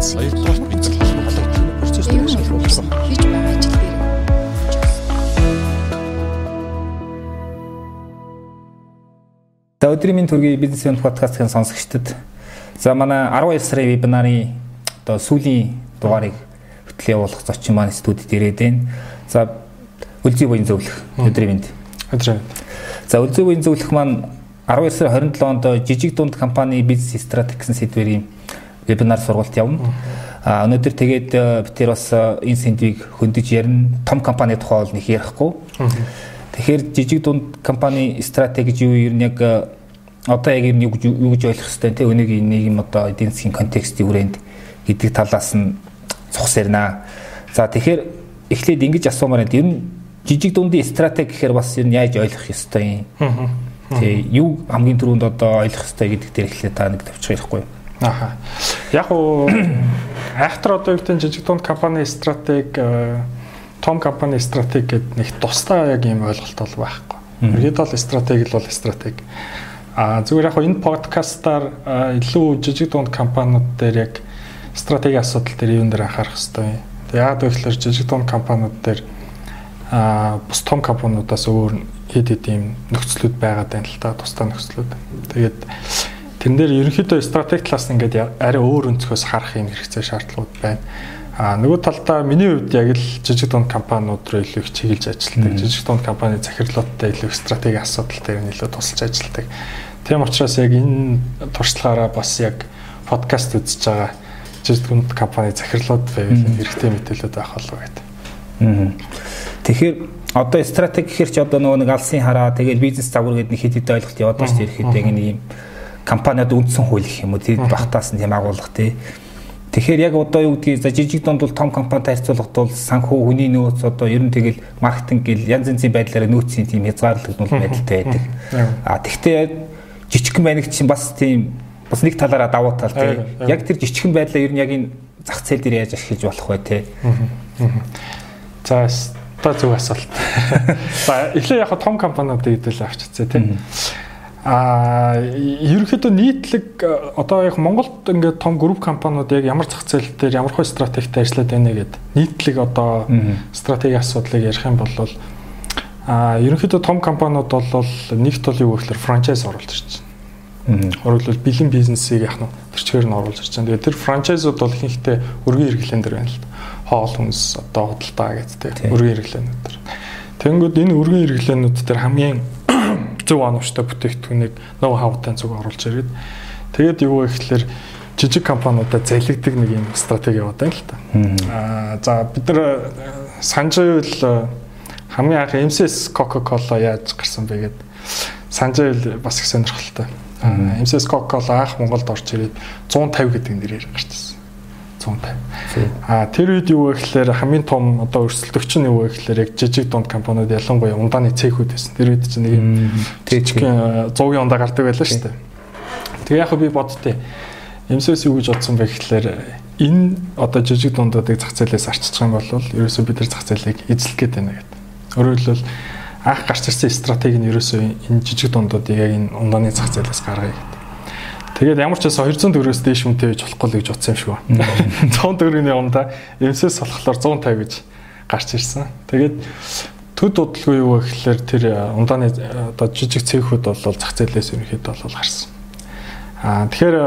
Хоёрдугаар бид холбогдсон процессыг шалгуулсан хийж байгаа ажил дээр. За өдрийн минь төргийн бизнес подкастын сонсогчдод за манай 12 сарын вебинарын одоо сүүлийн дугаарыг хөтлөө явуулах зочин маань студид ирээд байна. За үлзий буян зөвлөх өдрийн минь. За үлзий буян зөвлөх маань 12 сарын 27 онд жижиг дунд компани бизнес стратеги гэсэн сэдвэрийн вебинар сургалт явна. Өнөөдөр тэгээд бид бас энэ сэдвийг хөндөж ярина. Том компани тухай бол нэг ярихгүй. Тэгэхээр жижиг дунд компани стратеги гэж юу юм яг одоо яг юу гэж ойлгох хэвтэй те өнийг нийгэм одоо эдийн засгийн контекстийн хүрээнд гэдэг талаас нь цухс ярина. За тэгэхээр эхлээд ингэж асуумаар байна. Ер нь жижиг дундын стратеги гэхээр бас ер нь яаж ойлгох ёстой юм? Тэ юу хамгийн түрүүнд одоо ойлгох ёстой гэдэг дээр эхлээд та нэг төвчих ярихгүй. Яг уу айхтар одоо юу гэдэг жижиг дунд компани стратеги том компани стратеги гэдэг нэг тусдаа яг юм ойлголт бол байхгүй. Ерөөд бол стратеги бол стратеги. Зүгээр яг энэ подкастаар илүү жижиг дунд компаниуд дээр яг стратеги асуудал дээр юун дээр анхаарах хэрэгтэй. Тэгээ яагаад гэвэл жижиг дунд компаниуд дээр бус том компаниудаас өөр хэд ийм нөхцлүүд байгаад байна л та тусдаа нөхцлүүд. Тэгээд тэрэн дээр ерөнхийдөө стратеги талаас нь ингээд арай өөр өнцгөөс харах юм хэрэгцээ шаардлагууд байна. Нөгөө талдаа миний хувьд яг л жижиг дунд компаниуд руу илүү их чиглэж ажилладаг. Жижиг дунд компани захирлуудтай илүү их стратеги асуудал дээр нь илүү тусалж ажилладаг. Тийм учраас яг энэ туршлагаараа бас яг подкаст үзэж байгаа жижиг дунд компани захирлууд байвал хэрэгтэй мэдээлэлүүд байх болов гэдэг. Тэгэхээр одоо стратеги гэхэр чи одоо нөгөө нэг алсын хараа тэгээд бизнес загвар гэдэг нэг хэд хэд ойлголт яваад байна шүү дээ. Ихэд яг нэг юм компаниуд үндсэн хууль гэх юм уу тийм багтаас нь тийм агуулга тий. Тэгэхээр яг одоо юу гэдгийг за жижиг дунд бол том компанитай харьцуулахад бол санхүү хүний нөөц одоо ер нь тэгэл маркетинг гэл янз янзын байдлаараа нөөцийн тийм хязгаарлагдмал байдалтай байдаг. Тэгвэл жижигхэн байныг чинь бас тийм бас нэг талаараа давуу тал тий. Яг тэр жижигхэн байдлаа ер нь яг энэ зах зээл дээр яаж ашиглаж болох вэ тий. За та зөв асуулт. За эхлээ яг том компаниудыг хэдэл авчицээ тий. Ерөнхийдөө нийтлэг одоо яг Монголд ингээд том групп компаниуд яг ямар зах зээл дээр ямар хөө стратегитэй ажиллаад байна гэдэг нийтлэг одоо стратеги асуудлыг ярих юм бол ерөнхийдөө том компаниуд бол нэг тул юу гэхээр франчайз оруулж ирж байна. Өөрөлдвөл бэлэн бизнесийг яах нь тэр чигээр нь оруулж ирж байна. Тэгээд тэр франчайзууд бол ихэнхдээ өргөн хэрэглэн дээр байна л да. Хоол хүнс одоо худалдаа гэдэг өргөн хэрэглэнүүд төр. Тэнгүүд энэ өргөн хэрэглэнүүд төр хамгийн зөв оновчтой бүтээгдэхүүнийг ноу хаутай зүг оруулж ирээд тэгээд юу вэ гэхээр жижиг компаниудад залгидаг нэг юм стратеги яваад байна л та. За бид нар санаж байвал хамгийн анх MCS Coca-Cola яаж гарсан бэ гэдэг санаж байвал бас их сонирхолтой. MCS Coca-Cola анх Монголд орж ирээд 150 гэдэг нэрээр гарчсан. 150. Тэр үед юу вэ гэхээр хамгийн том одоо өрсөлдөгч нь юу вэ гэхээр яг жижиг дунд компаниуд ялангуяа ундааны цехүүд байсан. Тэр үед чинь нэг жижиг 100-ийн ундаа гардаг байлаа шүү дээ. Тэгээ яг би боддتي. MCS юу гэж бодсон бэ гэхээр энэ одоо жижиг дундуудыг зах зээлээс арчиж байгаа юм бол ерөөсөө бид нар зах зээлийг эзлэх гээд байна гэдэг. Өөрөөр хэлбэл анх гарч ирсэн стратеги нь ерөөсөө энэ жижиг дундуудыг яг энэ ундааны зах зээлээс гаргая гэдэг. Тэгээд ямар ч бас 200 төгрөгөөс дээш үнэтэй гэж болохгүй л гэж бодсон юм шиг байна. 100 төгрөгийн ундаа MCS болохоор 150 гэж гарч ирсэн. Тэгээд төд удалгүй юу гэхээр тэр ундааны одоо жижиг цехүүд бол зах зээлээс ерөнхийдөө бол гарсан. Тэгэхээр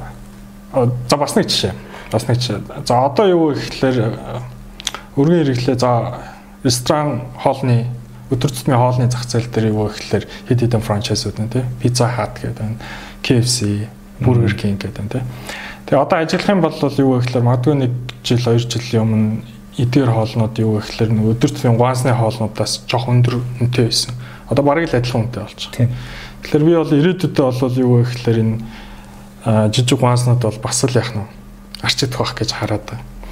за бас нэг жишээ. За одоо юу гэхээр өргөн хэрэглээ за ресторан хоолны өдөр тутмын хоолны зах зээл дээр юу гэхээр хэд хэдэн франчайзууд нь тий Pizza Hut гэдэг, KFC, Burger King гэдэг тий. Тэгээ одоо ажиллах юм бол юу гэхээр магадгүй 1 жил 2 жилийн өмнө эдгээр хоолнууд юу гэхээр өдөр тутмын гуансны хоолнуудаас жоох өндөр үнэтэй байсан. Одоо бараг л адилхан үнэтэй болж байгаа. Тэгэхээр би бол ирээдүйдээ бол юу гэхээр энэ жижиг гуанснууд бол бас л яах нь арчигдах байх гэж хараад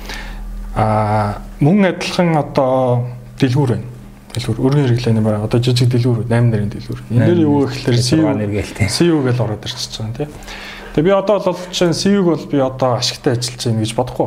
байна. Мөн адилхан одоо дэлгүүр байна. Дэлгүүр өргөн хэрэглээний байна. Одоо жижиг дэлгүүр 8 нарын дэлгүүр. Энэ дээр юу гэхээр CEO гэж ороод ирчихэж байгаа тийм. Тэгээ би одоо бол чинь CEO-г бол би одоо ашигтай ажиллаж байна гэж бодохгүй.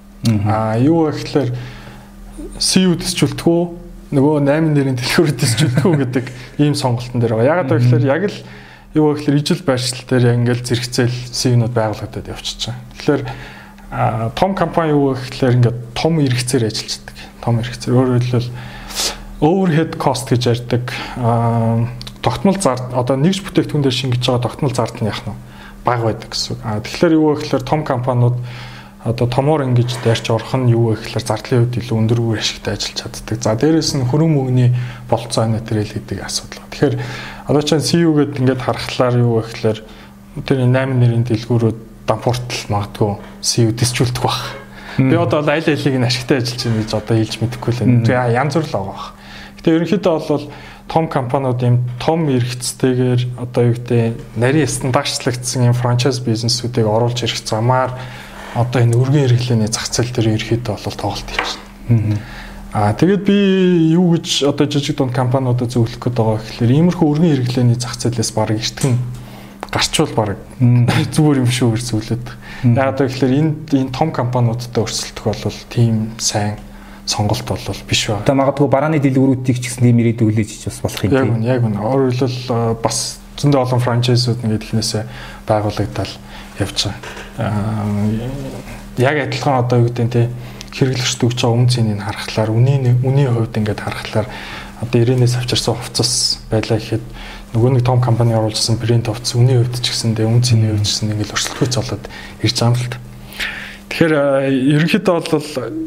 Юу гэхээр CEO дэсчүүлтгүү нөгөө 8 нарын дэлгүүр дэсчүүлтгүү гэдэг ийм сонголтон дээр байгаа. Ягаад гэвэл яг л юу гэхээр ижил байршил дээр ингээл зэрэгцээл CEO-нууд байгуулагдаад явчихж байгаа. Тэгэхээр том компани юу гэхээр ингээд том эрхцээр ажилладаг. Том эрхцээр өөрөөр хэлбэл overhead cost гэж ярьдаг. Тогтмол зар одоо нэгж бүтээгдэхүүн дээр шингэж байгаа тогтмол зард нь яах нь бага байдаг гэсэн. Тэгэхээр юу гэхээр том компаниуд одоо томоор ингэж дайрч орох нь юу гэхээр зардлын хувьд илүү өндөр үр ашигтай ажиллаж чаддаг. За дээрэс нь хөрөн мөнгөний болцоо материал гэдэг асуудал. Тэгэхээр одоо чинь CU гэдэг ингээд харахлаар юу гэхээр тэр 8 нэрийн дэлгүүрүүд дампууртал магадгүй CU дисчүүлдэх баг. Би одоо аль алийг нь ашигтай ажиллаж байна гэж одоо хэлж мэдэхгүй л байна. Тэгээ янз бүр л байгаа баг. Гэтэ ерөнхийдөө бол том компаниуд юм том эрхцтэйгээр одоо юу гэдэг нарийн стандартчлагдсан юм франчайз бизнесүүдийг оруулж ирэх замаар одоо энэ өргөн хэрэглээний зах зээл дээр ерөнхийдөө бол тоглолт хийчихнэ. Тэгээд би юу гэж одоо жижиг дунд компаниудад зөвлөх гээд байгаа гэхээр иймэрхүү өргөн хэрэглээний зах зээлээс бараг эртгэн гарчвал бараг зүгээр юм шүү гэж зөвлөд. Яг одоо гэхээр энэ том компаниудтай өрсөлдөх бол тийм сайн сонголт бол биш байна. Одоо магадгүй барааны дэлгүүрүүдийг ч гэсэн тийм ирээд өглөөж ич бас болох юм. Яг үнэ. Өөрөөр хэлбэл бас зөндөө олон франчайзууд ингээд ихнээсээ байгуулагдал явж байгаа. Яг адилхан одоо юу гэдэг нь те хэрэглэгчд өгч байгаа үн цэнийг харахаар үнийн хувьд ингээд харахаар одоо 90-ээс авчирсан хувцас байлаа гэхэд нөгөө нэг том компани оруулсан брэнд хувцас үнийн хувьд ч гэсэндээ үн цэний хувьд ч гэсэн ингээд өрсөлдөхөц болоод ирж байгаа юм л та. Тэгэхээр ерөнхийдөө бол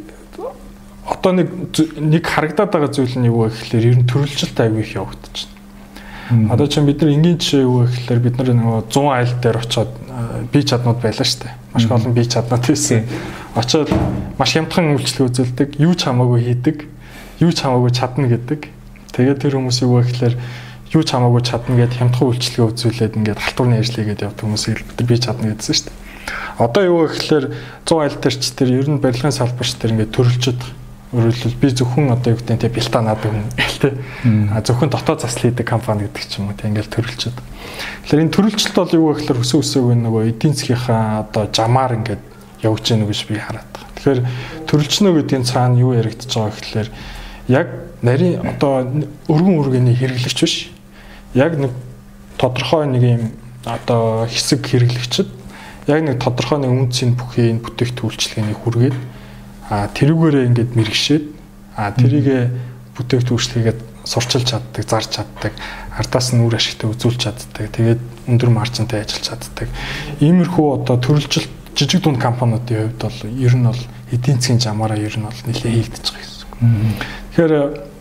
одоо нэг харагдаад байгаа зүйл нь юу вэ гэхээр ер нь төрөлжилт аягүй их явагдаж байна. Одоо чинь бид нар энгийн жишээ юу вэ гэхээр бид нар нөгөө 100 айл дээр очиод бие чаднууд байлаа шүү дээ. Маш олон бие чаднууд байсан. Очиод маш хямдхан үйлчлэг үзүүлдэг, юу ч хамаагүй хийдэг, юу ч хамаагүй чадна гэдэг. Тэгээд тэр хүмүүс юу вэ гэхээр юу ч хамаагүй чадна гэд хямдхан үйлчлэгээ үзүүлээд ингээд халтурны ажлыгээд явдаг хүмүүсийг бид нар бие чадна гэдсэн шүү дээ. Одоо юу вэ гэхээр 100 айл дээр ч тэр ер нь барилгын салбарч тэр ингээд төрөлжөд өөрөлдөл би зөвхөн одоо юу гэдэг нь бэлта наадаг хүн гэлтэй. Зөвхөн дотоод засал хийдэг компани гэдэг ч юм уу тийм ингээл төрөлчөд. Тэгэхээр энэ төрөлчлөлт бол юу вэ гэхээр өсөө өсөөг нөгөө эдийн засгийнхаа одоо жамаар ингээд явж гэнэ гэж би хараад байгаа. Тэгэхээр төрөлчнө гэдгийн цаана юу яригдчихэж байгаа гэхээр яг нарийн одоо өргөн үргэний хэрэглэгч биш. Яг нэг тодорхой нэг юм одоо хэсэг хэрэглэгчд яг нэг тодорхой нэг үнцийн бүхий бүтээгдэхүүлчлэгээний хүргээд тэрүүгээрээ ингээд мэрэгшээд тэрийг бүтээгдэхүүлчлэгээд сурчилж чаддаг, зарж чаддаг, ардаас нь үр ашигтай үзүүлж чаддаг, тэгээд өндөр маржинтай ажиллаж чаддаг. Иймэрхүү одоо төрөлжилт жижиг дунд компаниудын хувьд бол ер нь бол эдийн засгийн жамаараа ер нь бол нэлээд хийгдэж байгаа гэсэн үг. Тэгэхээр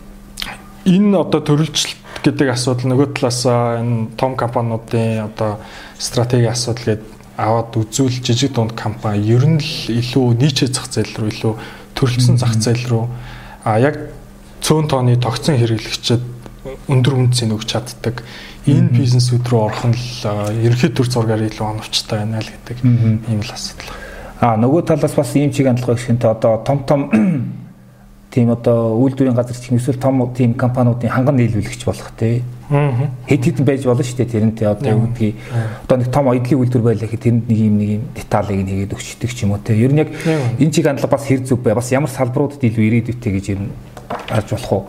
энэ одоо төрөлжилт гэдэг асуудал нөгөө талаасаа энэ том компаниудын одоо стратегийн асуудал гэдэг аваад үзүүл жижиг дунд компани ер нь л илүү нийцээ зах зээл рүү илүү төрөлсөн зах зээл рүү яг цөөн тооны тогтсон хэрэглэгчид өндөр үнцийг өгч чаддаг энэ бизнесүүд рүү орох нь л ерөнхий төр зургаар илүү оновчтой байна л гэдэг ийм л асуудал. Нөгөө талаас бас ийм чиг хандлага гэх юм одоо том тийм одоо үйлдвэрийн газар чинь эсвэл том тийм компаниудын ханган нийлүүлэгч болох тий. Хэд байж болно шүү дээ тэрнтэй одоо юу гэдгийг одоо нэг том эдлийн үйлдвэр байлаа гэхэд тэрэнд нэг юм деталыг нь хийгээд өгчдөг ч юм уу тий. Ер нь яг энэ чиг хандлага бас хэр зүв бай. Бас ямар салбаруудад илүү ирээдүйтэй гэж ер нь харж болох уу?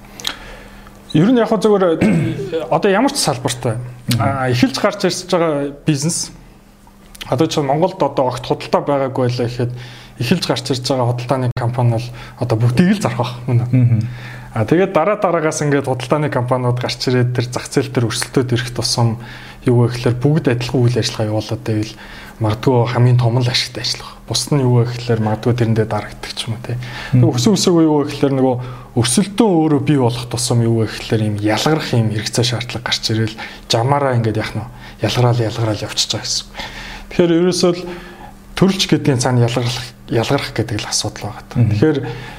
Ер нь яг зөвөр одоо ямар ч салбартай эхэлж гарч ирсэж байгаа бизнес одоо ч Монголд одоо огт худалдаа байгаагүй байлаа гэхэд эхэлж гарч ирж байгаа худалдааны компани бол одоо бүгдийг л зарах байх мөн. Тэгээд дараагаас ингээд худалдааны компаниуд гарч ирээд тэр зах зээл дээр өрсөлдөд ирэх тусам юу вэ гэхээр бүгд адилхан үйл ажиллагаа явуулаад байвал магадгүй хамгийн том л ашигтай ажиллах. Бус нь юу вэ гэхээр магадгүй тэрэндээ дарагддаг ч юм уу тий. Өсөө өсөөгөө юу вэ гэхээр нөгөө өрсөлдөөн өөрөө бий болох тусам юу вэ гэхээр юм ялгарх юм хэрэгцээ шаардлага гарч ирээл жамаараа ингээд яах нь ялгараал явчихж байгаа гэсэн. Тэгэхээр ерөөсөө л төрөлч гэдгийн цаана ялгарх гэдэг л асуудал байгаа. Тэгэхээр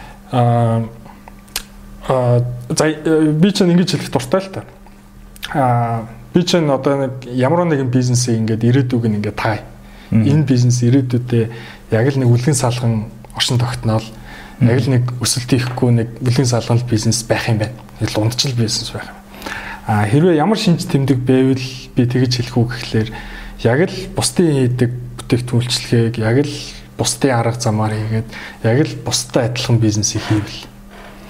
би ч ингэж хэлэх дуртай л та. Би ч одоо нэг ямар нэгэн бизнесийг ингээд ирээдүг нь ингээд тай. Энэ бизнес ирээдүйдээ яг л нэг үлгэн салган оршин тогтноол яг л нэг өсөлт хийхгүй нэг үлгэн салган бизнес байх юм байна. Л ундчил бизнес байх юм. Хэрвээ ямар шинж тэмдэг байвал би тэгэж хэлэх үг гэхлээр яг л бусдын хийдэг бүтээгдэхүүлчлэгийг яг л бусдын арга замаар хийгээд яг л бусдад адилхан бизнесийг хийвэл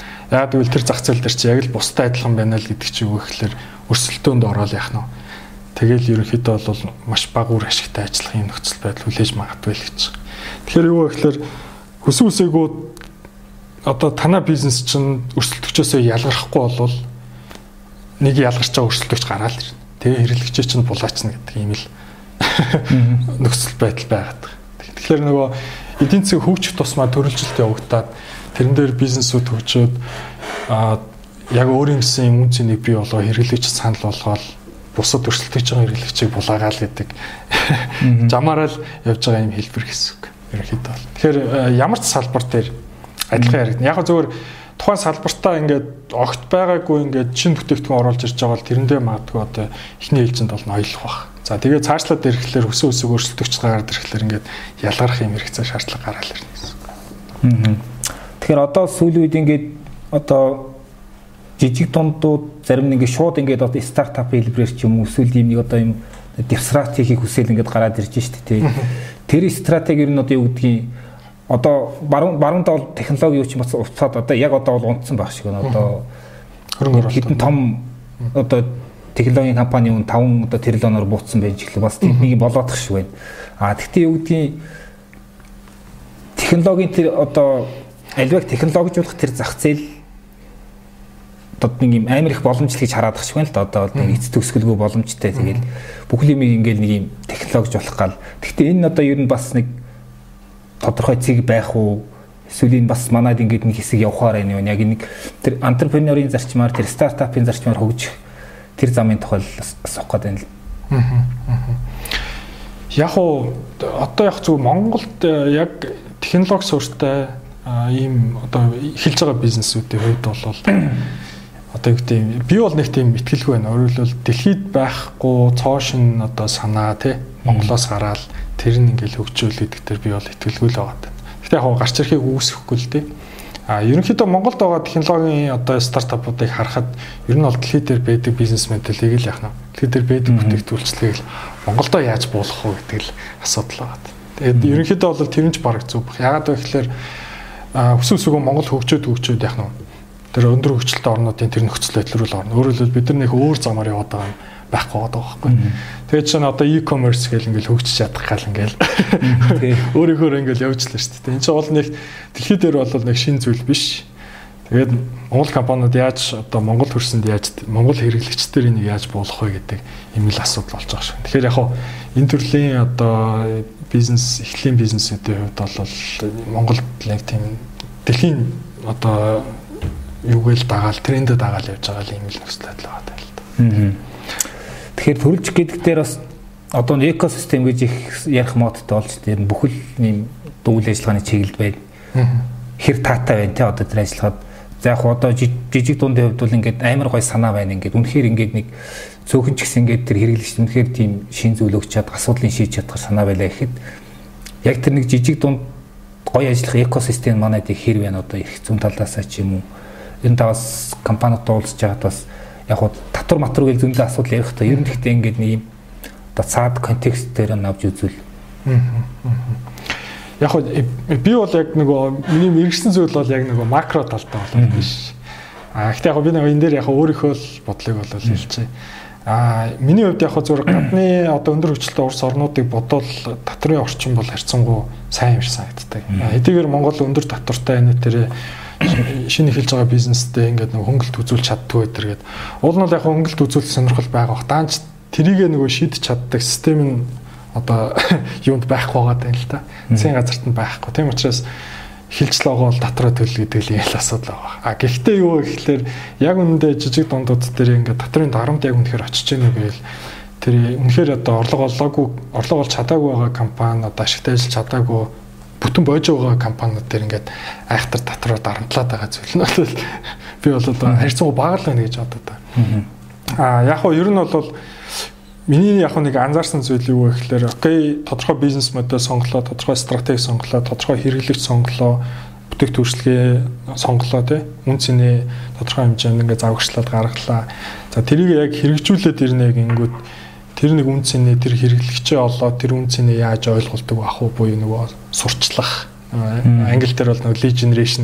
яг тэгвэл тэр зах зээл дээр чи яг л бусдад адилхан байна л гэдэг чи юу гэхэлэр өрсөлдөөнд ороод яах нь Тэгэл ерөнхийдөө бол маш бага үр ашигтай ажиллах юм нөхцөл байдал хүлээж магадгүй л гэж. Тэгэхээр юу вэ гэхээр хүсэн үсээгөө одоо танай бизнес чинь өрсөлдөгчөөсөө ялгархгүй болвол нэг ялгарч байгаа өрсөлдөгч гараад ирнэ. Тэгээ хэрэглэгчээ чинь булаачна гэдэг ийм л нөхцөл байдал байгаад. Тэгэхээр нөгөө эдийн засгийн хөгжих тусмаа төрөлжилт явагдаад тэрэн дээр бизнесүүд хөгжөөд яг өөрийн гэсэн үн цэнийг бий болгоо хэрэглэгч санал болгоод бусад өрсөлдөж байгаа хэрэглэгчийг булаагаал гэдэг жамаараа л явж байгаа юм хэлбэр гэсэн үг. Ерөнхийдөө. Тэгэхээр ямар ч салбар дээр адилхан яригдана. Яг зөвөр тухайн салбартаа ингээд огт байгаагүй ингээд шинэ бүтээгдэхүүн оруулж ирж байгаа бол тэрэндээ магадгүй одоо эхний ээлжинд бол ноёлох бах. За тэгээ цаашлаад ирэхлээр өсөө өсөг өрсөлдөгч гараад ирэхлээр ингээд ялгарах юм хэрэгцээ шаардлага гараал ирнэ гэсэн. Тэгэхээр одоо сүүлийн үед ингээд одоо жижиг дундууд зарим нэг шууд ингээд одоо стартап хэлбэрээр ч юм уу эсвэл ийм нэг одоо юм дифсрат хийхийг хүсэл ингээд гараад ирж штэ тий. Тэр стратеги ер нь одоо юу гэдгийг одоо баруун дол технологи юу ч юм бас уцаад одоо яг одоо бол унтсан байх шиг байна. Одоо хэдэн том одоо технологийн компани 5 одоо триллионоор буутсан байж ирлээ. Бас тийм нэг болоодох шиг байна. Тэгтээ юу гэдгийг технологийн тэр одоо альваг технологижуулах тэр зах зээл одоо нэг юм амар их боломжтой гэж хараад байгаа шиг байна л да. Одоо нэг эц төгсгөлгүй боломжтой. Тэгэл бүх юм ингээл нэг юм технологиж болох гал. Гэхдээ энэ одоо ер нь бас нэг тодорхой цэг байх уу? Эсвэл энэ бас манайд ингээд нэг хэсэг явахаар байна юу? Яг нэг тэр энтерпренерийн зарчмаар тэр стартапын зарчмаар хөгжих тэр замын тухай асуух гээд байна л. Яг уу одоо яг зөв Монголд яг технологи суурьтай ийм одоо эхэлж байгаа бизнесүүдийн хувьд бол одоо юу гэдэг би бол нэг тийм итгэлгүй байна. Өөрөөр хэлбэл дэлхийд байхгүй цоошин одоо санаа тий Монголоос гараад тэр нь ингээл хөгжүүлээд дээр би бол итгэлгүй л байгаа. Гэтэ яг гарч ирэхийг үүсэхгүй л тий. Ерөнхийдөө Монголд байгаа технологийн одоо стартапуудыг харахад ер нь бол дэлхийд дээр байдаг бизнес модельийг л яах нь. Дэлхийд дээр байдаг бүтээгдэхүүлчлэгийг л Монголдоо яаж буулгах вэ гэдэг л асуудал байгаа. Тэгээд ерөнхийдөө бол тэрнж бараг зүг. Ягаад вэ гэхээр хүсвэсгөө Монгол хөгжөөд яах нь. Тэр өндөр хөгжилтэй орнуудын тэр нөхцөл байдал руу орно. Өөрөөр хэлбэл бид нар нэг өөр замаар яваад байгаа юм байхгүй байгаа байхгүй. Тэгээд чинь одоо e-commerce гэл ингээл хөгжиж чадах гал ингээл өөрөөхөө ингээл явж лээ шүү дээ. Энд чинь бол нэг дэлхий дээр бол нэг шин зүйл биш. Тэгээд Монгол компаниуд яаж одоо Монгол хөрсөнд яаж Монгол хэрэглэгчдэр энийг яаж буулгах вэ гэдэг юм л асуудал болж байгаа шүү. Тэгэхээр яг хоо энэ төрлийн одоо бизнес эхлэлийн бизнесүүдийн хувьд бол Монголд нэг тийм дэлхийн одоо юугээл дагаал трендэд дагаал явж байгаа юм л нөхцөл байдал байгаа л да. Тэгэхээр төрөлж гэдэг дээр бас одоо экосистем гэж их ярих модтой болж тэр бүхэл ийм үйл ажиллагааны чиглэлд байна. Хэр таатай байна те одоо тэр ажиллахад за яг одоо жижиг дундын хувьд бол ингээд амар гой санаа байна ингээд үнэхээр ингээд нэг цөөхөн ч гэсэн ингээд тэр хэрэглэгч үнэхээр тийм шин зүйл өгч чад асуудлыг шийдэж чадах санаа байлаа гэхэд яг тэр нэг жижиг дунд гой ажиллах экосистем манайд их хэр байна одоо их зүүн талаасаа ч юм уу энэ тавас компаниуд уулзж байгаад бас яг хуу татвар матвар гэл зөндөө асуудал ярих та ер нь гэхдээ ингээд нэг юм одоо цаад контекст дээр нь авч үзвэл яг хуу би бол яг нөгөө миний мэрэгсэн зүйл бол яг нөгөө макро талтай болов биш. Гэхдээ яг би нөгөө энэ дээр яг өөрийнхөө л бодлыг бол хэлчихье. Миний хувьд яг зөвхөн гадны одоо өндөр хөгжилтэй улс орнуудыг бодвол татварын орчин бол харьцангуй сайн юм шиг санагддаг. Хэдийгээр Монгол өндөр татвартай энэ тэр шинэ эхэлж байгаа бизнестэй ингээд нэг хөнгөлт үзүүлж чаддгүй гэдэг. Уул нь яг хөнгөлт үзүүлэх сонирхол байгаа. Даанч тэрийг нөгөө шийдэж чаддаг систем нь одоо юунд байхгүй байгаа юм л та. Засгийн газарт нь байхгүй. Тийм учраас эхэлж л байгаа бол татраа төлөл гэдэг л ял асуудал байгаа. Гэхдээ юу гэхээр яг үнэндээ жижиг дундууд дээр ингээд татрын дарамт яг үнэхээр очиж гэнэ гэвэл тэр үнэхээр одоо орлого олж чадаагүй байгаа компани одоо ашигтай ажиллаж чадаагүй бүтэн боож байгаа компаниуд дээр ингээд айхтар татраар дарамтлаад байгаа зүйл нь бол би бол одоо харьцангуй бага л байна гэж бодод та. Яг хоо ер нь бол миний яг нэг анзаарсан зүйл юу вэ гэхээр окей тодорхой бизнес модель сонголоо, тодорхой стратеги сонголоо, тодорхой хэрэглэгч сонголоо, бүтээгдэхүүн төрөлхтөө сонголоо тий. Үн цэний тодорхой хэмжээнд ингээд завгчлаад гаргалаа. За тэрийг яг хэрэгжүүлээд ирнэ гингүүд тэр нэг үн цэний тэр хэрэглэгчээ олоо тэр үн цэний яаж ойлголдог ах уу буюу нөгөө сурчлах англи дээр бол нөгөө lead generation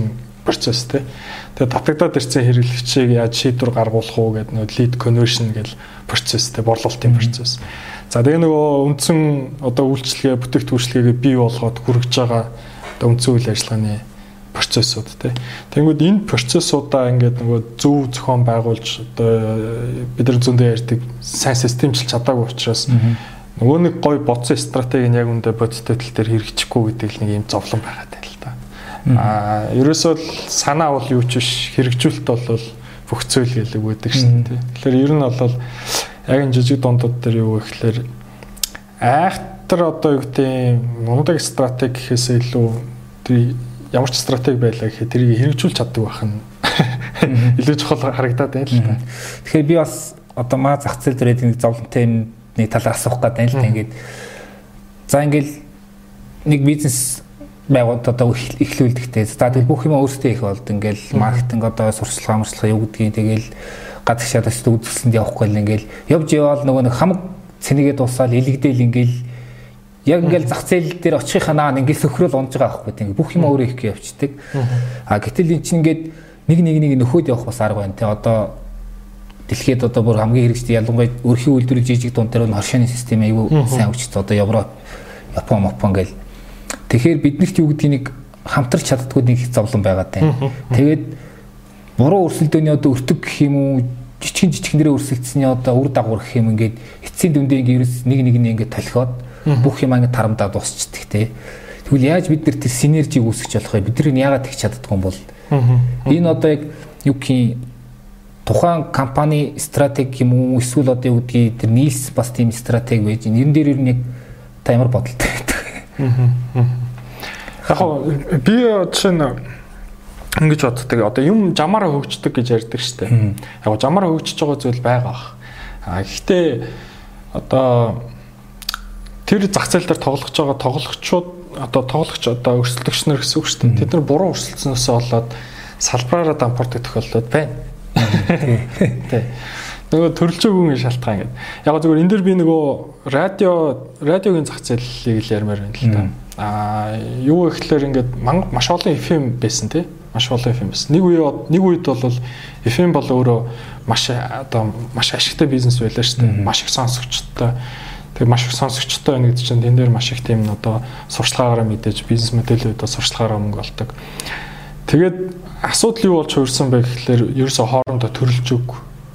процесс тий. Тэгээ татагдаад ирсэн хэрэглэгчийг яаж шийдвэр гаргуулах уу гэдэг нөгөө lead conversion гэл процесс тий, борлуулалтын процесс. За тэгээ нөгөө үндсэн одоо үйлчлэгээ, бүтээгдэхүүнчлэгээ бий болгоод хүргэж байгаа одоо үндсэн үйл ажиллагааны процессууд тий. Тэнгүүд энэ процессуудаа ингээд нөгөө зөв зохион байгуулж одоо бид нар зөндөө ярьдаг сайн системчилж чадаагүй учраас нөгөө нэг гой бодсон стратеги нь яг үндэ бодиттой тал дээр хэрэгжихгүй гэдэг л нэг юм зовлон байгаад байна л да. Ерөөсөө санаа бол юу ч биш, хэрэгжүүлэлт бол бүх зүйл гэлэг байдаг шин тий. Тэгэхээр ер нь бол яг энэ жижиг дундууд дээр юу гэхээр айхтар одоо юу гэдэг мундаг стратеги гэхээсээ илүү тэр ямар ч стратеги байлаа гэхэд тэрийг хэрэгжүүлж чаддаг байх нь илүү чухал харагдаад байна л та. Тэгэхээр би бас одоо маа зах зээл дээр нэг зовлонтой нэг талаар асуух гэдэг юм л та. Ингээд за ингээл нэг бизнес байгуулалт одоо эхлүүлдэхтэй. За тэгэл бүх юм өөрсдөө их болд ингээл маркетинг одоо сурчлага амарчлага юу гэдгийг тэгэл гадагш шатаас үзүүлсэнд явахгүй л ингээл явж яваал нөгөө нэг хамаг цэнэгээ дуусаад илэгдээл ингээл яг ингээл зах зээл дээр очихынхаа наа ингээл сөхрөөл унж байгаа байхгүй тийм бүх юм өөрөө их явцдаг. Гэтэл эн чинь ингээд нэг нөхөд явах бас арга байна те. Одоо дэлхийд одоо бүр хамгийн хэрэгжтэй ялангуяа өрхийн үйлдвэрийн жижиг дунд дээр хоршооны систем аюу сайн хүчтэй одоо Европ, Япон гэл. Тэгэхээр биднэрт юу гэдгийг нэг хамтарч чаддгүй нэг зовлон байгаа тань. Тэгээд буруу өрсөлдөөний одоо өртөг гэх юм уу жижигнэрээ өрсөлдсөний одоо үр дагавар гэх юм ингээд эцсийн дүндээ ингээд нэг ингээд толхиод бүх юм ингээд тарамдаа дуусчдаг те. Тэгвэл яаж бид нар тэр синержиг үүсгэж болох вэ? Бидний яагаад тэгж чаддгүй юм бол энэ одоо яг юу гэх тухайн компани стратеги юм уу эсвэл одоо юу гэдгийг тэр нийлс бас тийм стратеги байж энэ дээр ер нь яг та ямар бодолтой байдаг. Яг би чинь ингэж боддог. Одоо юм жамаараа хөгждөг гэж ярьдаг штеп. Яг жамаараа хөгжиж байгаа зүйл байгаа. Гэхдээ одоо тэр зах зээл дээр тоглож байгаа тоглогчид одоо өрсөлдөгч нар гэсэн үг шүү дээ. Тэд нар буруу өрсөлдсөнөөсөө болоод салбараараа дампуурдаг тохиолдол байна. Тий. Нөгөө төрөлжөөгийн шалтгаан гэдэг. Яг зөвхөн энэ дэр би нөгөө радиогийн зах зээлийг л ярмаар байна л да. Юу гэхэлэр ингээд маш олон FM байсан тий. Маш олон FM байсан. Нэг үед бол FM бол өөрөө маш ашигтай бизнес байлаа шүү дээ. Маш их сонсогчтой. Тэгээ маш их сонсогчтой байна гэдэг чинь тэн дээр маш их тийм одоо сурчлагаараа мэдээж бизнес модельүүдээ сурчлагаараа мөнгө олдог. Тэгээд асуудал юу болж хуурсан бэ гэхэлэр ерөөсө хоорондоо төрөлж өг.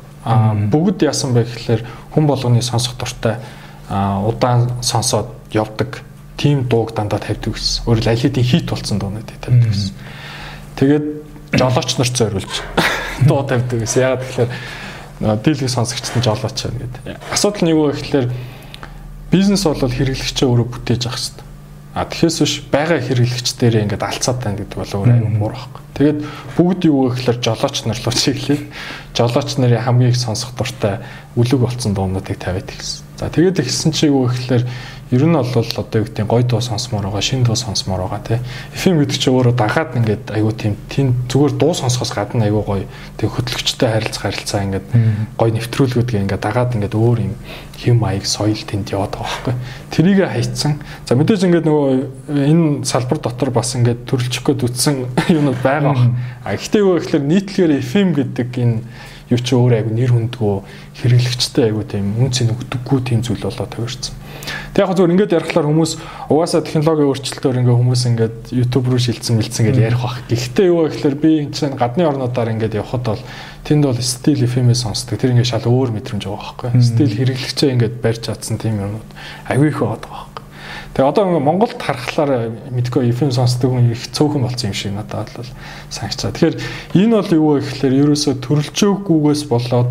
Бүгд яасан бэ гэхэлэр хүн болгоны сонсох дуртай удаан сонсоод явдаг тийм дууг дандаа тавьдаг гэсэн. Өөрөөр аль хэдийн хит болсон дуунууд тавьдаг гэсэн. Тэгээд жолооч нарт зориулж дуу тавьдаг гэсэн. Ягаад гэхэлэр дийлэх сонсогчд нь жолооч байна гэдэг. Асуудал нь юу вэ гэхэлэр бизнес бол хэрэглэгчээ өөрөө бүтээж авах хэрэгтэй. Тэгэхээс биш байгаа хэрэглэгчдэрээ ингээд алцаад тань гэдэг бол өөр аюул муу байхгүй. Тэгээд бүгд юу гэхэлэр жолооч нар руу чиглэе. Жолооч нарын хамгийн их сонсох дуртай үлэг болсон дуунуудыг тавиад гэсэн. За тэгээд ихсэн чи юу гэхэлэр ер нь бол одоо юу гэдэг гой дуу сонсомоор байгаа, шин дуу сонсомоор байгаа тий. FM гэдэг чи өөрөө дагаад ингээд аюу тийм зүгээр дуу сонсохоос гадна аюу гоё тэг хөтлөгчтэй харилцаа ингээд гоё нэвтрүүлгүүд ингээд дагаад ингээд өөр юм хэм маяг соёл тэнд яваад байгаа байхгүй. Тэрийг хайцсан. За мэдээж ингээд нөгөө энэ салбар дотор бас ингээд төрөлжих гээд үтсэн юмуд байгаа баг. Гэхдээ юу гэхэлэр нийтлэгээр FM гэдэг энэ юу ч өөр аюу нэр хүндгөө хэрэглэгчтэй аюу тийм үнцэн өгдөггүй тийм зүйл болоо төгөрсөн. Тэг яг зөвөр ингээд ярихлаар хүмүүс угаасаа технологийн өөрчлөлтөөр ингээд хүмүүс ингээд YouTube руу шилжсэн гэж ярих бах. Гэхдээ юу гэхэлэр би энэ чинь гадны орнуудаар ингээд явхад бол тэнд бол стил FM-ээс сонсдог. Тэр ингээд шал өөр мэдрэмж байгаа байхгүй. Стил хэрэглэгчээ ингээд барьж чадсан тийм юмнууд аюу их байгаа байхгүй. Тэгээ одоо ингээд Монголд харахлаар мэдгүй FM сонсдог хүн их цөөхөн болсон юм шиг надад бол санагчаа. Тэгэхээр энэ бол юу вэ гэхэлэр ерөөсөө төрөлжөөгүйгээс болоод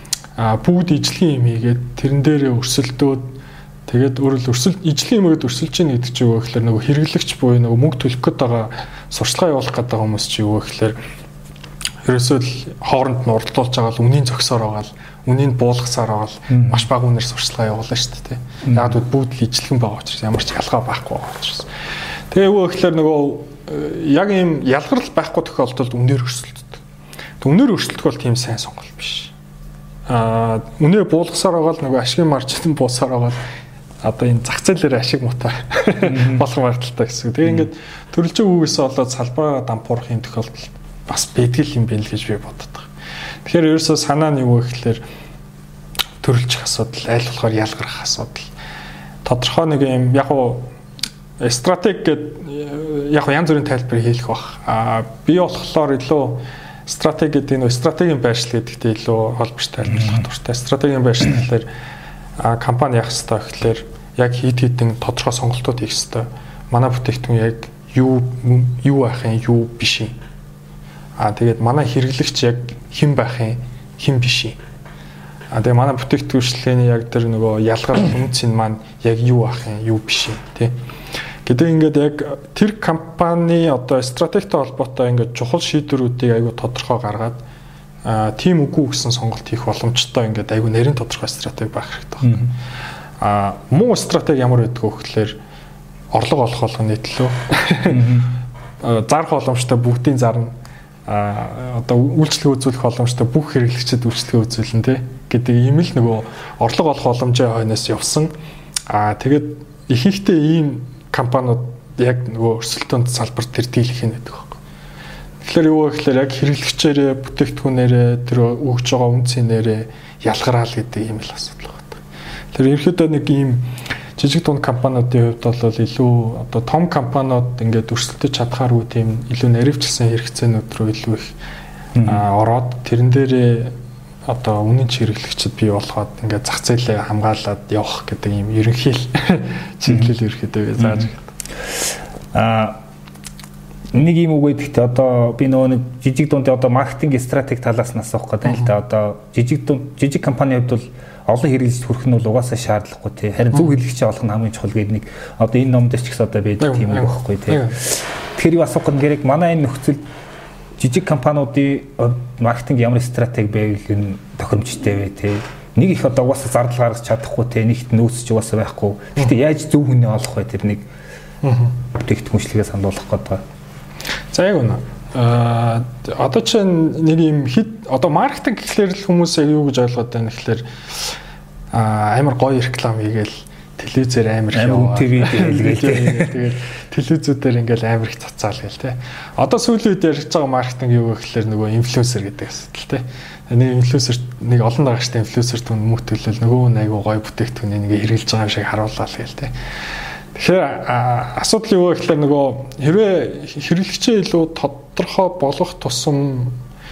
бүгд ижлэгийн юм хийгээд тэрэн дээрээ өрсөлдөөд тэгээд өөрөлд ижлэгийн юмэд өрсөлж ийн гэдэг чинь юу гэхэлэр нөгөө хэрэглэгч буюу нөгөө мөнгө төлөх гээд байгаа сурчлагаа явуулах гээд байгаа хүмүүс чинь юу гэхэлэр ерөөсөө л хооронд нь уралдуулж байгаа л үнийн зөксөөр байгаа л үнийг буулгасаар байгаа л маш бага үнээр сурчлагаа явуулна шүү дээ. Яг л бүгд л ижлэгэн байгаа учраас ямар ч ялгаа байхгүй байгаа учраас. Тэгээ юу гэхэлэр нөгөө яг ийм ялгарл байхгүй тохиолдолд үнээр өрсөлддөг. Үнээр өрсөлдөх бол тийм сайн сонголт биш. Үнээ буулгасаар байгаа л нөгөө ашигын маржин буусаар байгаа л одоо энэ зах зээлээр ашиг муутай болох магадaltaй гэсэн. Тэгээ ингээд төрөлжөө үгээс болоод салбараа дампуурах юм тохиолдол бас бэдгэл юм байна л гэж би боддог. Тэгэхээр ерөөсөө санаа нь юу вэ гэхээр төрөлжих асуудал, аль болохоор ялгарх асуудал. Тодорхой нэг юм яг уу стратеги гэдэг яг янз бүрийн тайлбар хийх бах. Би болохоор илүү стратеги гэдэг нь стратегийн байршил гэдэгтэй илүү холбоотой тайлбарлах дуртай. Стратегийн байршил гэхээр компани яах ёстой гэхээр яг хит хитэн тодорхой сонголтууд хийх ёстой. Манай бүтээгдэхүүн яг юу байх юм, юу биш юм. Тэгээд манай хэрэглэгч яг хэн байх юм, хэн биш юм. Тэгээ манай бүтээгдэхүүнчлэгийн яг тэр нөгөө ялгаар үнцэн маань яг юу байх юм, юу биш юм, тий. Гэдэг ингээд яг тэр компани одоо стратегтэй холбоотой ингээд чухал шийдвэрүүдийг аягүй тодорхой гаргаад тийм үгүй гэсэн сонголт хийх боломжтой ингээд аягүй нарийн тодорхой стратеги байх хэрэгтэй байна. Муу стратеги ямар байдг вэ гэхээр орлого олох болгоны төлөө зарах боломжтой бүгдийн зарна. Одоо үйлчлэг үзүүлэх боломжтой бүх хэрэглэгчид үйлчлэгээ үзүүлнэ тий гэдэг ийм л нөгөө орлого олох боломжийн хойноос явсан. Тэгээд ихэнхдээ ийм компаниуд яг нөгөө өрсөлдөөнд салбарт тэр дийлэх юм байдаг байхгүй. Тэгэхээр юу вэ гэхээр яг хэрэглэгчээрээ бүтээгдэхүүнээрээ тэр өгж байгаа үнцнээрээ ялгараал гэдэг ийм л асуудал байна. Тэр ерөөдөө нэг ийм жижиг дунд компаниудын хувьд бол илүү одоо том компаниуд ингээд өрсөлдөж чадхааргүй тийм илүү наривчлсан хэрэгцээнүүд рүү илүү их ороод тэрэн дээрээ одоо үнэн хэрэглэгчд бий болгоод ингээд зах зээлээ хамгаалаад явах гэдэг ийм ерөнхий чиглэл ерөөдөө зааж байгаа. Нэг юм үг гэдэгт одоо би нөгөө нэг жижиг дунд одоо маркетинг стратеги талаас нь асуух гэдэг л да. Одоо жижиг компанийн хувьд бол олон хэрэглэгчд хүрэх нь бол угаасаа шаардлагагүй тий. Харин зөв хэрэглэгчээ олох нь хамгийн чухал гэдэг нэг одоо энэ номд ч гэсэн одоо байдаг тийм үг байхгүй тий. Тэгэхээр юу асуух гэдэг нь манай энэ нөхцөл жижиг компаниудын маркетинг ямар стратеги байвал энэ тохиромжтой вэ тий. Нэг их одоо угаасаа зардал гаргаж чадахгүй тий. Нэгт нөөцч угаасаа байхгүй. Гэхдээ яаж зөв хүнээ олох вэ тэр нэг бүтээгдэхүүнчлэгээ сануулах гэдэг. За яг үнэ. Одоо чинь нэг юм одоо маркетинг гэхлээр л хүмүүс яг юу гэж ойлгоод байна гэхлээр амар гоё реклам хийгээл телевизээр амар ТV хэлгээл тэгээд телевизүүдээр ингээл амар их цацаал гээл те. Одоо сүүлийн үед ярьж байгаа маркетинг юу вэ гэхлээр нөгөө инфлюенсер гэдэг асуудал те. Нэг инфлюенсер нэг олон дагагчтай инфлюенсер түн мөтөлөл нөгөө айгуу гоё бүтээгдэхүүнийг ингээ хэрэгжилж байгаа юм шиг харууллаа гээл те. Тэгэхээр асуудал юу вэ гэхлээр нөгөө хэрвээ хэрэглэгчээ илүү тодорхой болгох тусам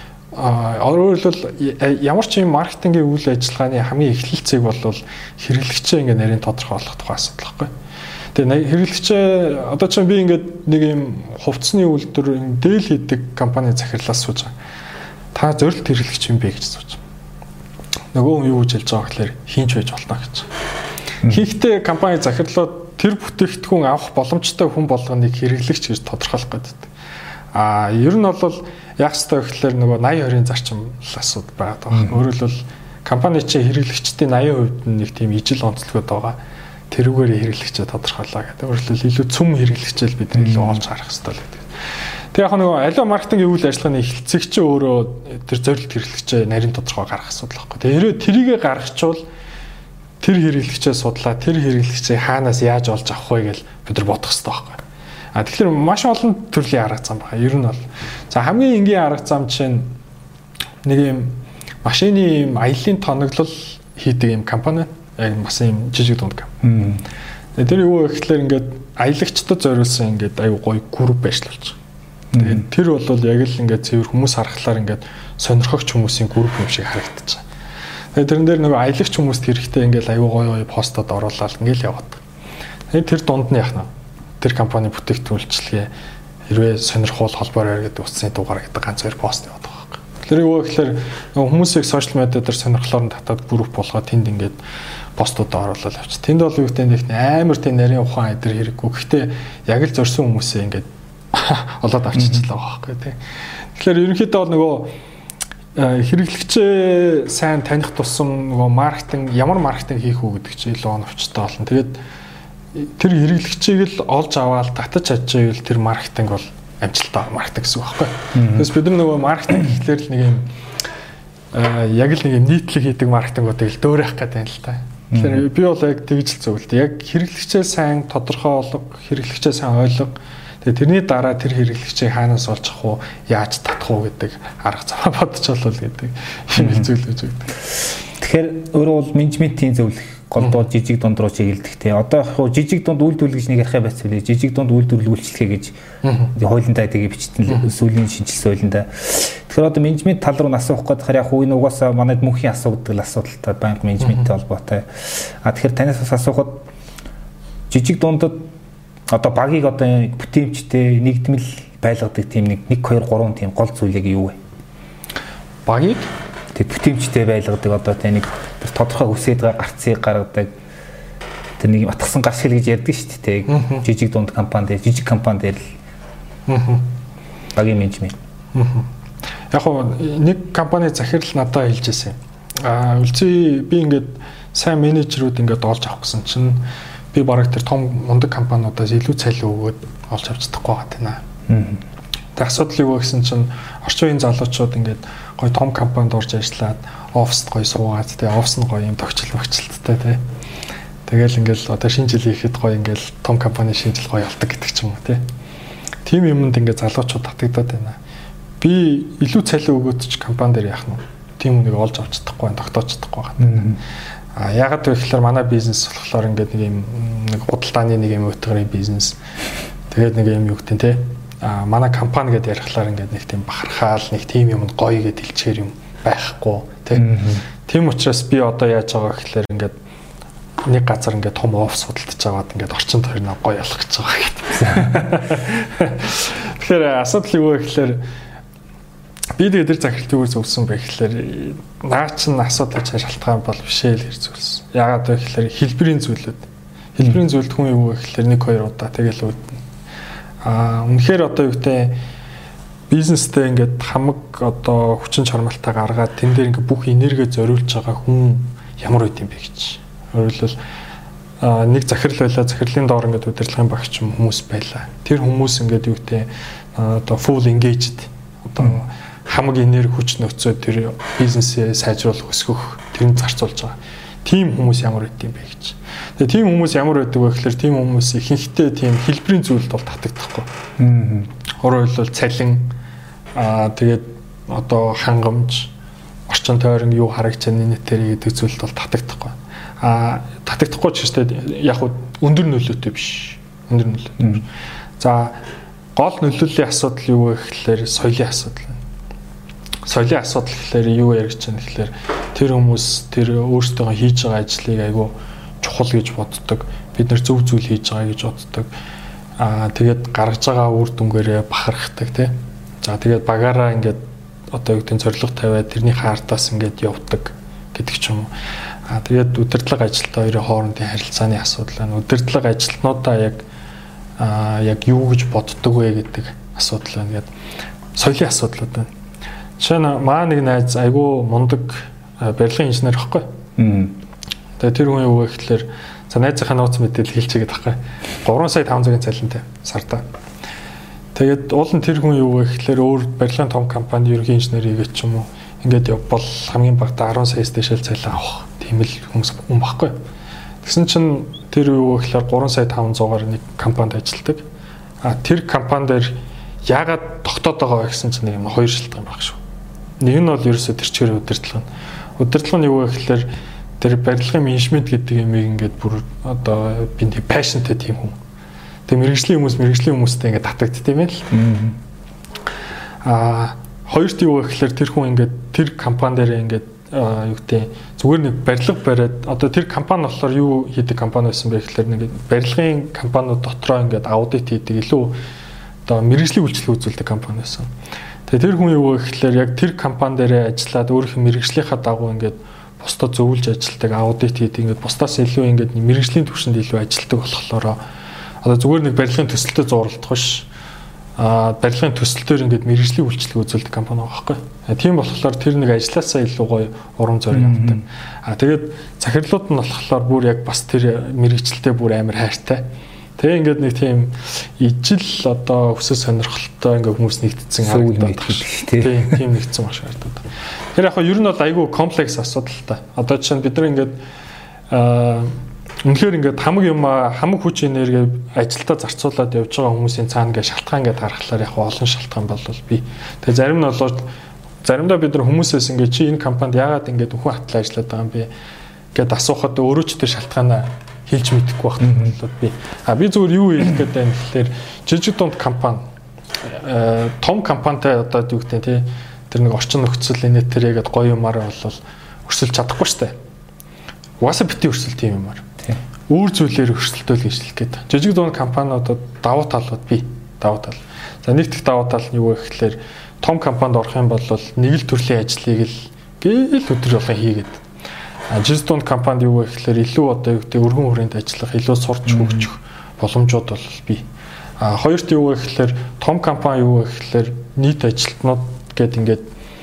өөрөөр хэлбэл ямар ч юм маркетингийн үйл ажиллагааны хамгийн эхлэл зэг бол хэрэглэгчээ ингээ нарийн тодорхой болгох тухай асуудал байхгүй. Тэгээ хэрэглэгчээ одоо ч би ингээд нэг юм хувцсны үйлдвэр дээл хийдэг компани захирлаас сууж байгаа. Та зорилт хэрэглэгч юм бэ гэж сууж. Нөгөө хүн юу гэж хэлж байгаа гэхлээр хинч байж болно гэж. Хийхдээ компани захирлууд тэр бүтээгдэхүүн авах боломжтой хүн болгоныг хэрэглэгч гэж тодорхойлох гэдэг. Ер нь бол яг хэвээр гэхэлэр нөгөө 80-20-ын зарчим асуудал байгаа даа. Өөрөөр хэлбэл компани чинь хэрэглэгчдийн 80% нэг тийм ижил онцлогод байгаа. Тэрүүгээр хэрэглэгчээ тодорхойлоо гэдэг. Өөрөөр хэлбэл илүү цөм хэрэглэгчэл бид илүү олж харах хэрэгтэй л гэдэг. Тэг яг нөгөө аливаа маркетингийн үйл ажиллагааны эхлэлцэг чинь өөрөө тэр зорилт хэрэглэгчээ нарийн тодорхой гаргах асуудал байхгүй. Тэгээ тэрийгэ гаргачвал тэр хэрэглэгчээ судлаа, тэр хэрэглэгчээ хаанаас яаж олж авах вэ гэж бид нар бодох хэрэгтэй байхгүй. Тэгэхээр маш олон төрлийн арга зам байна. Ер нь бол за хамгийн энгийн арга зам чинь нэг юм машины юм аяллаа тоноглол хийдэг юм компани, яг бас юм жижиг дунд компани. Тэр юу вэ гэхэлэр ингээд аялагчдад зориулсан ингээд аюу гоё групп байрлуулж байгаа. Тэгээд тэр бол яг л ингээд цэвэр хүмүүс харахаар ингээд сонирхогч хүмүүсийн групп юм шиг харагдаж байна. Тэгээд тэрэн дээр нөгөө аялагч хүмүүст хэрэгтэй ингээд аюу гоё постод оруулаад ингээд яваад. Тэгээд тэр дунд нь яах нь тэр компани бүтээгдэхүүнчлэгээ хэрвээ сонирхол холбоор байдаг утасны дугаар гэдэг ганц хоёр пост яваад байгаа. Тэгэхээр юу гэхээр хүмүүсийг сошиал медиа дээр сонирхлоор нь татаад групп болгоод тэнд ингээд постуудаа оруулаад авчих. Тэнд бол юу гэдэг нь амар тийм нарийн ухаан эдэр хэрэггүй. Гэхдээ яг л зорьсон хүмүүсээ ингээд олоод авчичлаа байгаа байхгүй тийм. Тэгэхээр ерөнхийдөө бол нөгөө хэрэглэгчээ сайн таних тусам нөгөө маркетинг ямар маркетинг хийх үү гэдэг чинь илүү оновчтой болно. Тэгээд тэр хэрэглэгчийг л олж аваад татаж чадчихвэл тэр маркетинг бол амжилттай маркетинг гэсэн үг байхгүй. Тэгээс бид нар нөгөө маркетинг гэхлээр л нэг юм яг л нэг юм нийтлэг хийдэг маркетингуудыг л дөөрөх гэдэг юм л та. Тэгэхээр би бол яг тэгж л зөвлөд. Яг хэрэглэгчээ сайн тодорхой олго, хэрэглэгчээ сайн ойлго. Тэгээ тэрний дараа тэр хэрэглэгчийг хаанаас олж авах уу, яаж татах уу гэдэг арга зам бодож болвол гэдэг юм зүйлж өгдөг. Тэгэхээр өөрөө бол менежментийн зөвлөх голдуу жижиг дунд руу чиглэдэг те. Одоо яг жижиг дунд үйлдвэрлэл гэж нэг ярих байцвал жижиг дунд үйлдвэрлэл үйлчлэгээ гэж хуулиндаа тэгээ бичсэн сүүлийн шинжилсэн хуулиндаа. Тэгэхээр одоо менежмент тал руу асуух гэдэг хэрэг яг энэ угаасаа манайд мөнхийн асуудал асуудалтай банк менежменттэй холбоотой. Тэгэхээр танаас бас асуухад жижиг дундад одоо багийг одоо бүтээмжтэй нэгдмэл байлгадаг тийм 1 2 3 тийм гол зүйлийг юу вэ? Багийг тэг бүтээмжтэй байлгадаг одоо тэ нэг тодорхой үсээд гарцыг гаргадаг тэр нэг атгсан гаршил гэж ярьдаг шүү дээ. Жижиг дунд компани дээр жижиг компани дээр л багийн менежмент. Яг нь нэг компани захирал надад хэлжсэн. Үлцээ би ингээд сайн менежерүүд ингээд олж авах гэсэн чинь би бараг тэр том мундаг компаниудаас илүү цалин өгөөд олж авч чадахгүй байгаа тийм. Тэг асуудал юу вэ гэсэн чинь орчин үеийн залуучууд ингээд гоё том компанид орж ажиллаад оффист гоё суугаад тэгээ оффис нь гоё юм тогтчлттай тий. Тэгэл ингээл одоо шинэ жил ихэд гоё ингээл том компани шинэ жил гоё явдаг гэдэг ч юм уу тий. Тим юмд ингээд залуучууд татагдаад байна. Би илүү цалин өгөөд ч компани дээр яах нь тим үнийг олж авч чадахгүй байна, тогтоож чадахгүй байна. Яагаад вэ гэхээр манай бизнес болохоор ингээд нэг юм нэг худалдааны нэг юм өтгөрийн бизнес. Тэгээд нэг юм юу гэдэг тий. Манай компани гэдээ ярихлаар ингээд нэг тийм бахархаал нэг тийм юмд гоё гэдээ хэлчихэр юм байхгүй тий. Тийм учраас би одоо яаж байгаа гэхээр ингээд нэг газар ингээд том офис худалдаж аваад ингээд орчин тойрноо гоё ялах гэж байгаа гэдэг. Тэгэхээр асуудал юу вэ гэхээр би тэгээд тэр захиралтыг зөвсөн байх гэхээр наа чин асуудал гэж шалтгаан бол бишээ л хэрцүүлсэн. Яагаад вэ гэхээр хэлбэрийн зүйлүүд. Хэлбэрийн зүйлд хүн юу вэ гэхээр 1 2 удаа тэгэл үүднэ. Үнэхээр одоо юу гэдэг бизнестэй ингээд хамаг одоо хүчин чармайлтаа гаргаад тэн дээр ингээд бүх энерги зориулж байгаа хүн ямар үт юм бэ гэж. Өөрөлдвөл нэг захирал байлаа, захирлын доор ингээд удирдлагын багч хүмүүс байлаа. Тэр хүмүүс ингээд юу гэдэг одоо full engaged одоо хамаг энерги хүч нөөцөө тэр бизнесээ сайжруулах өсгөх тэрийг зарцуулж байгаа. Тим хүмүүс ямар үт юм бэ гэж. Тэгээ тийм хүмүүс ямар байдаг вэ гэхээр тийм хүмүүс ихэнхдээ тийм хэлбэрийн зүйлд бол татагдахгүй. Өөрөөр хэлбэл цалин тэгээд одоо хангамж, орчин тойрон юу харагч байгаа нэтэр гэдэг зүйлд бол татагдахгүй. Татагдахгүй ч гэжтэй яг өндөр нөлөөтэй биш. Өндөр нөлөөтэй. За гол нөлөөлийн асуудал юу вэ гэхээр соёлын асуудал. Соёлын асуудал гэхээр юу яригч байгаа гэхээр тэр хүмүүс тэр өөрсдөө хийж байгаа ажлыг айгүй чухал гэж боддог. Бид нэр зөв зүйл хийж байгаа гэж боддог. Тэгээд гаргаж байгаа үр дүнгээрээ бахархдаг тий. За тэгээд багаараа ингээд одоо юу гэдэг зорилго тавиад тэрний хаартаас ингээд явдаг гэдэг ч юм уу. Тэгээд удирдлага ажилтнаа хоёрын хоорондын харилцааны асуудал байна. Удирдлага ажилтнуудаа яг юу гэж боддог вэ гэдэг асуудал байна. Тэгээд соёлын асуудлууд байна. Жишээ нь маа нэг найз айгүй мундаг барилгын инженер байхгүй. Тэгээд тэр хүн юу вэ гэхээр за найзынхаа нууц мэдээлэл хэлчихгээд байхгүй. 3 сая 500-ын цалинтай сарда. Тэгээд уул нь тэр хүн юу вэ гэхээр өөр барилгын том компани ерөнхий инженер хийгээд ч юм уу ингээд явбал хамгийн багадаа 10 саяас дэшэл цалин авах тийм л хүн байхгүй. Тэгсэн чинь тэр юу вэ гэхээр 3 сая 500-аар нэг компанид ажилладаг. Тэр компани дээр яагаад тогтоод байгаа вэ гэсэн чинь нэг юм хоёр шалтгаан баг шүү. Нэг нь бол ерөөсөө тэр чигээр удирдлага нь. Удирдлага нь юу вэ гэхээр тэр барилгын менежмент гэдэг юмыг ингээд бүр одоо би нэг пашнтэй тийм хүн. Тэг мэрэгжлийн хүмүүстэй ингээд татагдт тийм ээ л. Хоёрт юу вэ гэхээр тэр хүн ингээд тэр компани дээр ингээд юу гэдэг зүгээр нэг барилга бариад одоо тэр компани болохоор юу хийдэг компани байсан бэ гэхээр нэг барилгын компаниуд дотроо ингээд аудит хийдэг илүү одоо мэрэгжлийн үйлчлэг үзүүлдэг компани байсан. Тэгээ тэр хүн юу вэ гэхээр яг тэр компани дээр ажиллаад өөрийнхөө мэрэгжлийнхаа дагуу ингээд бусдад зөвлөж ажилтдаг, аудит хийдэг, ингээд бусдаас илүү ингээд мэрэгжлийн түвшинд илүү ажилтдаг болохоор одоо зүгээр нэг барилгын төсөлтөд зурлах биш. Барилгын төсөлтөөр ингээд мэрэгжлийн үйлчлэг үзүүлдэг компани байгаа байхгүй. Тийм болохоор тэр нэг ажилласаа илүү гоё урам зориг авдаг. Тэгээд захирлууд нь болохоор бүр яг бас тэр мэрэгчлэлтэй бүр амар хайртай. Тэгээ ингээд нэг тийм ижил одоо өсөж сонирхолтой ингээд хүмүүс нэгдсэн харагдаад байна. Тийм нэгдсэн маш харагдаад байна. Тэр яг нь ер нь бол айгүй комплекс асуудал та. Одоо жишээ нь бид нар ингээд Үнэхээр ингээд хамаг хүч энерги ажилдаа зарцуулаад явж байгаа хүмүүсийн цаана ингээд шалтгаан ингээд харахаар яг олон шалтгаан болвол би. Тэгээ зарим нь болоод заримдаа бид нар хүмүүсээс ингээд чи энэ компанид яагаад ингээд өхөн хатлаа ажиллаад байгаа юм бэ гэд асуухад өөрөө ч тэр шалтгаанаа хэлж мэдэхгүй байна би. Би зүгээр юу хэлэх гээд байна гэхээр жижиг дунд компани том компанитай одоо юу гэдэг тий тэр нэг орчин нөхцөл инээтэрэгэд гоё юмараа бол өрсөлж чадахгүй штэ. Угаасаа бити өрсөлт юм юмар. Өөр зүйлээр өрсөлдөөл гэж хэлэх гээд. Жижиг дунд компаниудад давуу талууд бий. Давуу тал. За нэг дэх давуу тал нь юу вэ гэхээр том компанид орох юм бол нэг л төрлийн ажлыг л гээл өдөр болгон хийгээд. Жижиг дунд компанид юу вэ гэхээр илүү одоо юу гэдэг өргөн хүрээнд ажиллах, илүү сурч хөгжих боломжууд бол бий. Хоёрт юу вэ гэхээр том компани юу вэ гэхээр нийт ажилтнууд гээд ингээд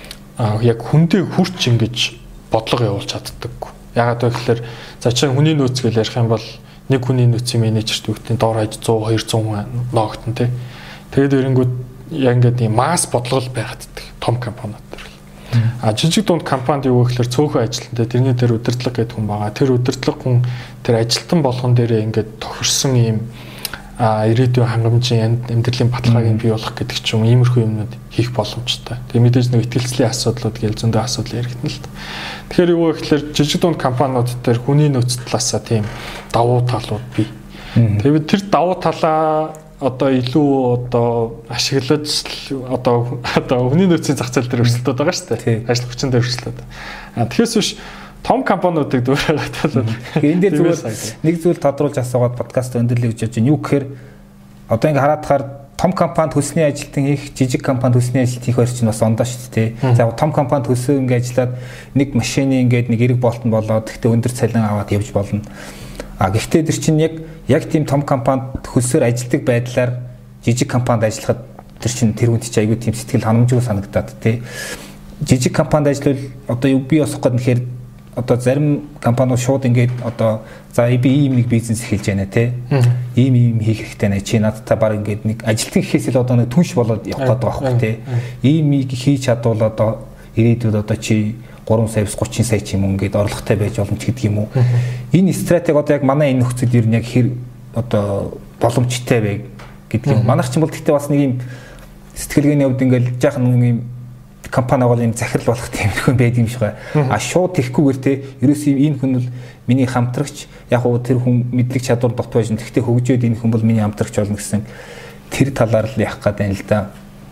яг хүндээ хүрч ингэж бодлого явуулж чаддаггүй. Ягаад вэ гэхээр за чи хүний нөөц гэж ярих юм бол нэг хүний нөөцийн менежерт үгтийн доор хаяж 100 200 хүн ноогтон тий. Тэгээд эрэнгүүд яг ингээд ийм масс бодлого байгаддаг том компаниуд төр. Жижиг дунд компанид юу гэхээр цөөхөн ажилтнтай тэрний дээр удирдлага гэдэг хүн байгаа. Тэр удирдлага хүн тэр ажилтан болгон дээрээ ингээд тохирсон ийм ирээдүйн хангамжийн амьдралын баталгааг бий болгох гэдэг ч юм иймэрхүү юмнууд хийх боломжтой. Тэгээ мэдээж нэг итгэлцлийн асуудлууд гээл зөндөө асуудал яригдана л та. Тэгэхээр юу вэ гэхээр жижиг дунд компаниуд дээр хүний нөөц талаасаа тийм давуу талууд бий. Тэгээд тэр давуу талаа одоо илүү одоо ашиглаж одоо хүний нөөцийн зах зээл дээр өрсөлдөд байгаа шүү дээ. Ажил хүчин дээр өрсөлдөд. Тэгэхээс биш том компаниудыг дүүрээд энэ дээр зүгээр нэг зүйл тодруулж асуугаад подкаст өндөрлөе гэж бодож байна. Юу гэхээр одоо ингэ хараад том компанид төсний ажилтан хийх, жижиг компанид төсний ажилт хийх хоёр чинь бас ондоо шүү дээ. За том компанид төсөө ингэ ажиллаад нэг машины ингээд нэг эрэг болтон болоод гэхдээ өндөр цалин аваад явж болно. Гэхдээ тэр чинь яг тийм том компанид хөлсөөр ажилтдаг байдлаар жижиг компанид ажиллахад тэр чинь тэр хүнд чи аягүй тийм сэтгэл ханамжгүй санагдаад тий. Жижиг компанид ажиллавал одоо юу би босох гэдэг нэхэр одоо зарим компаниуд шууд ингээд одоо за би ийм нэг бизнес эхэлж байна те ийм хийх хэрэгтэй нэ чи надтай баг ингээд нэг ажилтан гэхээс л одоо нэг түнш болоод явах гэдэг байхгүй те ийм хийж чадвал одоо ирээдүйд одоо чи 3 саяс 30 сая ч юм уу ингээд орлоготой байж болно ч гэдэг юм уу энэ стратеги одоо яг манай энэ нөхцөл ер нь яг хэр одоо боломжтой вэ гэдэг юм манайх ч юм бол гэхдээ бас нэг юм сэтгэлгээний хувьд ингээд жаахан нэг юм компани бол юм захирал болох тиймэрхүү байд юм шиг байна. Шууд тэхгүйгээр те ерөөсөө энэ хүн бол миний хамтрагч яг уу тэр хүн мэдлэг чадвар дот байж. Тэгтээ хөгжөөд энэ хүн бол миний хамтрагч болно гэсэн тэр талаар л явах гэдэг юм л да.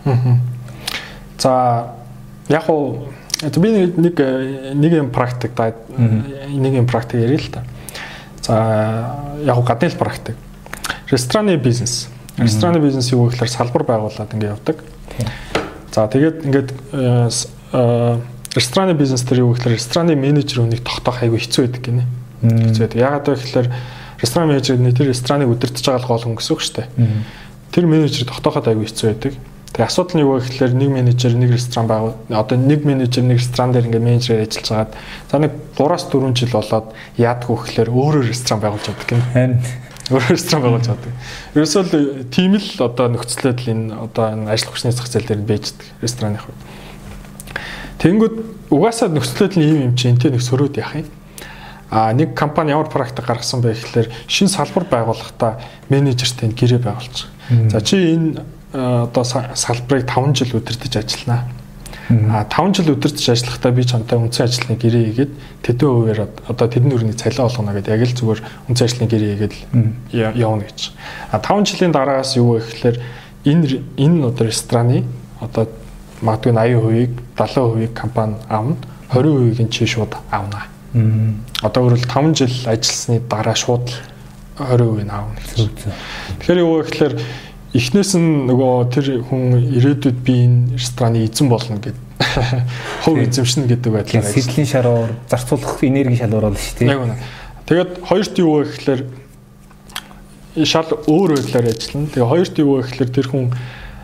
За яг уу би нэг юм практик ярил л та. За яг уу гадны практик. Рестораны бизнес. Рестораны бизнес юу гэхээр салбар байгуулад ингэ явдаг. За тэгээд ингээд рестораны бизнес дээр юу гэхээр рестораны менежер хүнийг тогтоох айгүй хэцүү байдаг гинэ. Хэцүү байдаг. Яагаад вэ гэхээр ресторан менежер тэр рестораныг удирдах байгаа гол хүн гэсэн үг шүү дээ. Тэр менежер тогтооход айгүй хэцүү байдаг. Тэгээ асуудал нь юу вэ гэхээр нэг менежер нэг ресторан байгуул одоо нэг менежер нэг ресторан дээр ингээд менежерээр ажиллаж хагаад за нэг 3-4 жил болоод яадгүй гэхээр өөрөө ресторан байгуулж чаддаг гинэ. Өөрөө ресторан байгуулж чаддаг. Ерөөсөө л тийм л одоо нөхцөлөд л энэ одоо энэ ажил хүчний зах зээл дээр бийждэг рестораны хувьд. Тэнгүүд угаасаа нөхцөлөд л ийм юм чи энтэй нэг сөрөөд яах юм. Нэг компани ямар практик гаргасан бэ гэхээр шинэ салбар байгуулахдаа менежертэй гэрээ байгуулж байгаа. За чи энэ одоо салбарыг 5 жил удирдах ажиллана. 5 жил удирдах ажиллахдаа би чамтай үндсэн ажлын гэрээ хийгээд тэдэн хувиар одоо тэдэн өрний цалин олгоно гэдэг яг л зүгээр үндсэн ажлын гэрээ хийгээд явна гэж. 5 жилийн дараагаас юу вэ гэхээр энэ одоо рестораны одоо магадгүй 80%-ийг 70%-ийг компани авна, 20%-ийг нь чи шууд авна. Одоо өөрөлд 5 жил ажилласны дараа шууд 20% нь авна гэсэн. Тэгэхээр юу вэ гэхээр эхнээс нь нөгөө тэр хүн ирээдүйд би энэ рестораны эзэн болно гэдэг хувь эзэмшнэ гэдэг байдлаар сэдлийн шаруур зарцуулах энерги шалгуур болно шүү дээ. Тэгээд хоёрт юу вэ гэхээр шал өөр байдлаар ажиллана. Тэгээ хоёрт юу вэ гэхээр тэр хүн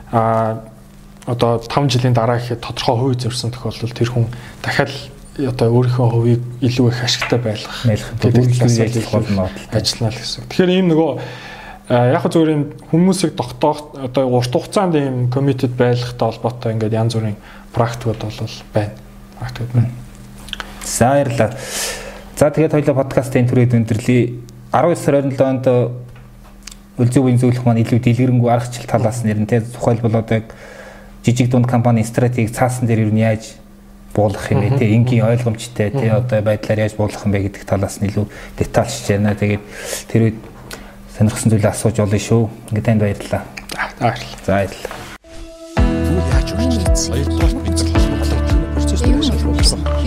одоо 5 жилийн дараа гэхэд тодорхой хувь эзэмшсэн тохиолдолд тэр хүн дахиад одоо өөрийнхөө хувийг илүү их ашигтай байлгах гэдэг ажиллах ажиллана л гэсэн. Тэгэхээр ийм нөгөө яг зүгээр юм хүмүүсийг тогтоох одоо урт хугацаанд ийм committed байлгахтай холбоотой ингээд янз бүрийн практикууд бол байна. Практикууд байна. За баярлалаа. За тэгээд хоёлаа подкастын түрээд өндөрлөе. 19 сарын 27-нд үлзий үеийн зөвлөх маань илүү дэлгэрэнгүй аргачлал талаас нь нэрнтэй тухайлбал одоо яг жижиг дунд компани стратеги цаасан дээр юу яаж буулгах юм бэ те энгийн ойлгомжтой те одоо байдлаар яаж буулгах юм бэ гэдэг талаас нь илүү детальшж байна. Тэгээд тэр үед сонирхсан зүйлээ асууж олно шүү. Ингээд танд баярлалаа. За баярлалаа. Юу яаж үргэлжлүүлсэн? Хоёрдугаар бид процесс